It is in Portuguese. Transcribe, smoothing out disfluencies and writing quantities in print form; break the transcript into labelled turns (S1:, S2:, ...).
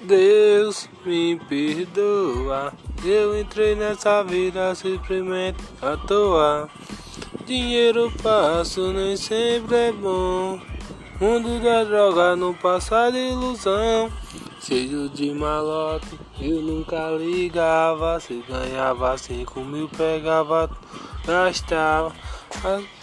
S1: Deus me perdoa, eu entrei nessa vida simplesmente à toa. Dinheiro fácil nem sempre é bom. Mundo da droga não passa de ilusão. Cheio de malote, eu nunca ligava. Se ganhava 5 mil, pegava, gastava.